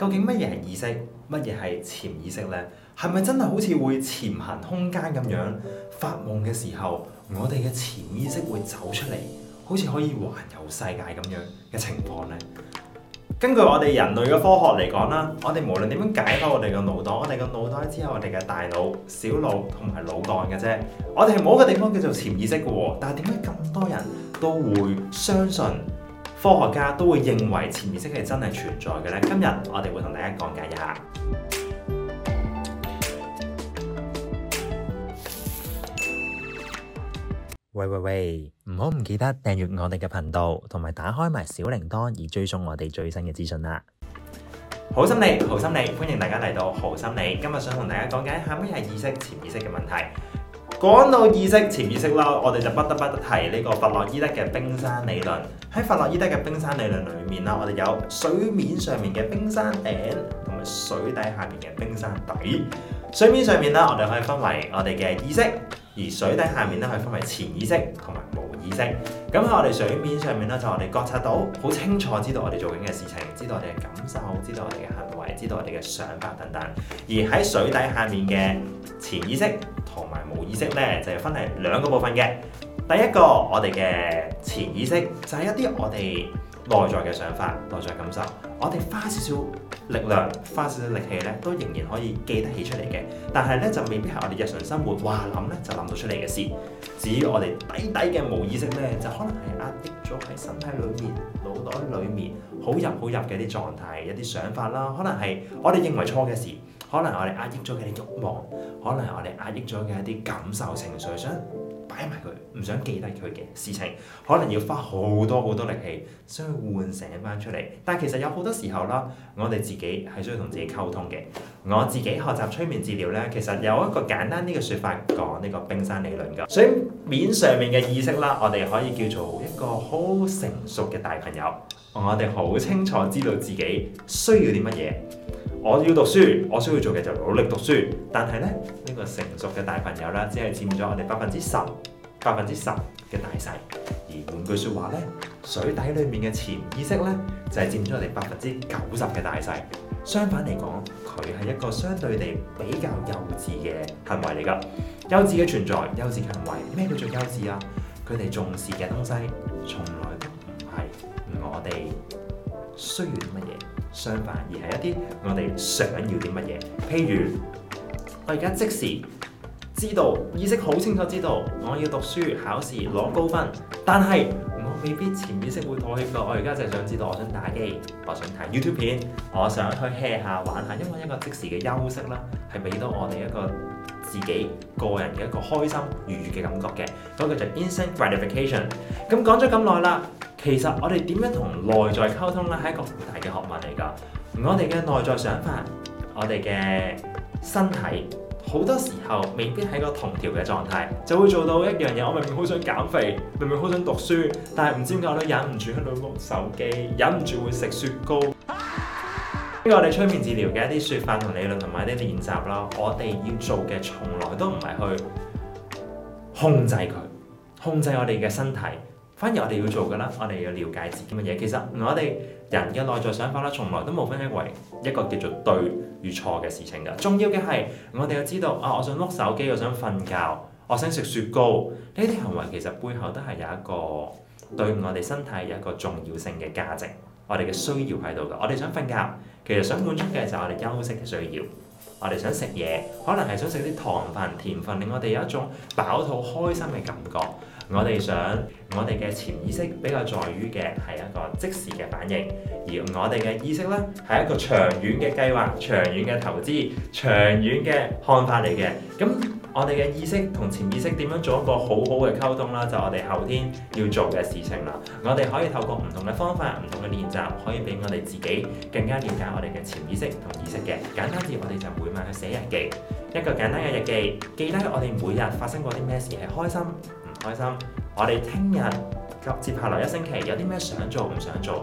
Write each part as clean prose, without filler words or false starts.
究竟乜嘢係意識，乜嘢係潛意識呢？係咪真係好似會潛行空間咁樣？發夢嘅時候，我哋嘅潛意識會走出嚟，好似可以環遊世界咁樣嘅情況呢？根據我哋人類嘅科學嚟講啦，我哋無論點樣解開我哋嘅腦袋，我哋嘅腦袋只有我哋嘅大腦、小腦同埋腦幹嘅啫。我哋係冇一個地方叫做潛意識嘅喎。但係點解咁多人都會相信，科學家都會認為潛意識係真係存在嘅呢？今日我哋會同大家講解一下。喂，唔好唔記得訂閱我哋嘅頻道，同埋打開埋小鈴鐺而追蹤我哋最新嘅資訊啦。好心理，歡迎大家嚟到好心理。今日想同大家講解一下乜係意識、潛意識嘅問題。講到意識、潛意識啦，我哋就不得不提呢個弗洛伊德嘅冰山理論。喺弗洛伊德嘅冰山理論裏面啦，我哋有水面上面嘅冰山頂，同埋水底下面嘅冰山底。水面上面啦，我哋可以分為我哋嘅意識。而水底下面咧，可以分為潛意識同埋無意識。咁喺我哋水面上面咧，就我哋覺察到好清楚，知道我哋做緊嘅事情，知道我哋嘅感受，知道我哋嘅行為，知道我哋嘅想法等等。而喺水底下面嘅潛意識同埋無意識咧，就係分係兩個部分嘅。第一個我哋嘅潛意識就係一啲我哋內在嘅想法、內在感受，我哋花少少力量、花少少力氣咧，都仍然可以記得起出嚟嘅。但係咧，就未必係我哋日常生活話諗咧就諗到出嚟嘅事。至於我哋低嘅無意識咧，就可能係壓抑咗喺身體裏面、腦袋裏面好入嘅啲狀態、一啲想法啦，可能係我哋認為錯嘅事，可能係我哋壓抑咗嘅啲慾望，可能係我哋壓抑咗嘅一啲感受情緒，想擺埋佢，唔想記得佢嘅事情，可能要花好多力氣，想去喚醒翻出嚟。但係其實有好多時候啦，我哋自己係需要同自己溝通嘅。我自己學習催眠治療咧，其實有一個簡單啲嘅説法講呢個冰山理論㗎。水面上面嘅意識啦，我哋可以叫做一個好成熟嘅大朋友，我哋好清楚知道自己需要啲乜嘢。我要讀書，我需要做嘅就努力讀書。但係咧，呢個成熟嘅大朋友啦，只係佔咗我哋10%嘅大細。而換句説話咧，水底裡面嘅潛意識咧，就係佔咗我哋90%嘅大細。相反嚟講，佢係一個相對地比較幼稚嘅行為嚟㗎。幼稚嘅存在，幼稚嘅行為，咩叫做幼稚啊？佢哋重視嘅東西，從來都唔係我哋需要啲乜嘢。相反，而係一啲我哋想要啲乜嘢。譬如我而家即時知道，意識好清楚知道我要讀書考試攞高分，但係我未必潛意識會妥協㗎。我而家就係想知道，我想打機，我想睇 YouTube 片，我想去 hea 下玩下，因為一個即時嘅休息啦，係俾到我哋一個自己個人嘅一個開心愉悅嘅感覺嘅，嗰個就 instant gratification。咁講咗咁耐啦，其實我哋點樣同內在溝通咧，係一個好大嘅學問嚟㗎。我哋嘅內在想法，我哋嘅身體，好多時候未必喺個同調嘅狀態，就會做到一樣嘢。我明明好想減肥，明明好想讀書，但係唔知點解我都忍唔住喺度碌手機，忍唔住會食雪糕。呢個我哋催眠治療嘅一啲説法同理論同埋一啲練習啦，我哋要做嘅從來都唔係去控制佢，控制我哋嘅身體，反而我哋要做嘅啦，我哋要了解自己乜嘢。其實我哋人嘅內在想法啦，從來都冇分為一個叫做對與錯嘅事情㗎。重要嘅係我哋要知道我想碌手機，我想瞓覺，我想食雪糕，呢啲行為其實背後都係有一個對我哋身體有一個重要性嘅價值，我哋嘅需要喺度㗎。我哋想瞓覺，其實想滿足嘅就係我哋休息嘅需要。我哋想食嘢，可能係想食啲糖分、甜分，令我哋有一種飽肚開心嘅感覺。我哋想我哋嘅潛意識比較在於嘅係一個即時嘅反應，而我哋嘅意識咧係一個長遠嘅計劃、長遠嘅投資、長遠嘅看法嚟嘅。咁我哋嘅意識同潛意識點樣做一個好好嘅溝通啦？就我哋後天要做嘅事情啦。我哋可以透過唔同嘅方法、唔同嘅練習，可以俾我哋自己更加了解我哋嘅潛意識同意識嘅。簡單啲，我哋就每晚去寫日記，一個簡單嘅日記，記低我哋每日發生過啲咩事，係開心、唔開心。我哋聽日及接下來一星期有啲咩想做唔想做，去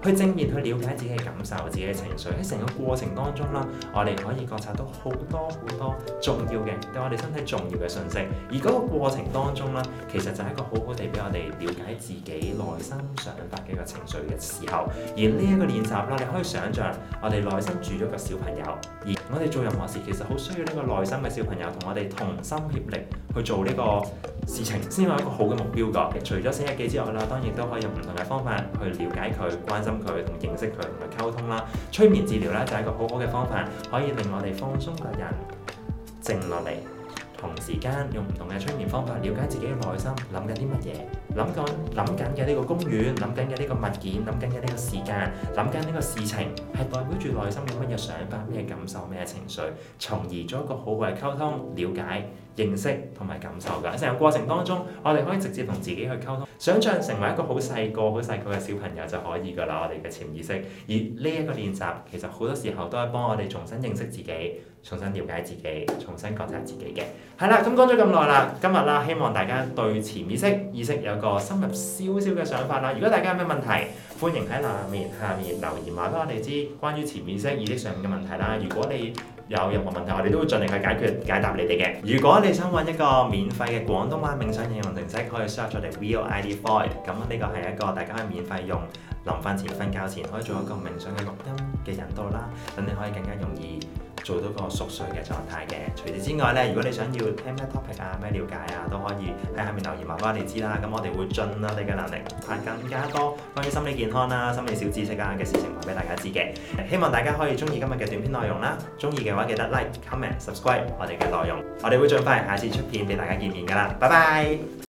去正面去了解自己嘅感受、自己嘅情緒。喺成個過程當中啦，我哋可以覺察到好多重要嘅對我哋身體重要嘅信息。而嗰個過程當中啦，其實就係一個好好地俾我哋了解自己內心想法嘅一個情緒嘅時候。而呢一個練習啦，你可以想像我哋內心住咗個小朋友，而我哋做任何事其實好需要呢個內心嘅小朋友同我哋同心協力去做呢個事情，先有一個好嘅目標㗎。除咗寫日記之外啦，當然都可以用唔同嘅方法去了解佢、關心佢、同認識佢、同佢溝通啦。催眠治療咧就係一個好好嘅方法，可以令我哋放鬆個人，靜落嚟。同時間用唔同嘅催眠方法了解自己嘅內心，諗緊啲乜嘢，諗緊嘅呢個公園，諗緊嘅呢個物件，諗緊嘅呢個時間，諗緊呢個事情，係代表住內心有乜嘢想法、咩感受、咩情緒，從而做一個好好嘅溝通、了解、認識同埋感受㗎。喺成個過程當中，我哋可以直接同自己去溝通，想像成為一個好細個嘅小朋友就可以㗎啦。我哋嘅潛意識，而呢一個練習其實好多時候都係幫我哋重新認識自己、重新了解自己、重新覺察自己嘅。係啦，咁講咗咁耐啦，今日啦，希望大家對潛意識有個深入少少嘅想法啦。如果大家有咩問題，歡迎喺下面留言話俾我哋知關於潛意識、意識上面嘅問題啦。如果你有任何問題，我哋都會盡力去解答你哋嘅。如果你想揾一個免費嘅廣東話冥想應用程式，可以 search 我哋 Real ID Void。咁呢個係一個大家可以免費用，臨瞓前、瞓覺前可以做一個冥想嘅錄音嘅引導啦，等你可以更加容易做到個熟睡嘅狀態嘅。除此之外咧，如果你想要聽咩 topic 啊、咩了解啊，都可以喺下面留言話俾我哋知啦。咁我哋會盡我哋嘅能力，派更加多關於心理健康啦、心理小知識啊嘅事情話俾大家知嘅。希望大家可以中意今日嘅短片內容啦，中意嘅話記得 like、comment、subscribe 我哋嘅內容，我哋會盡快下次出片俾大家見面㗎啦。拜拜。